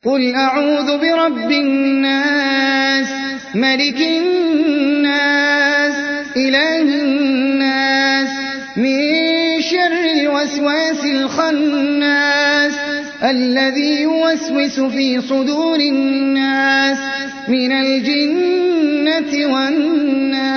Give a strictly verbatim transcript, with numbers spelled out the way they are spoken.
قل أعوذ برب الناس ملك الناس إله الناس من شر الوسواس الخناس الذي يوسوس في صدور الناس من الجنة والناس.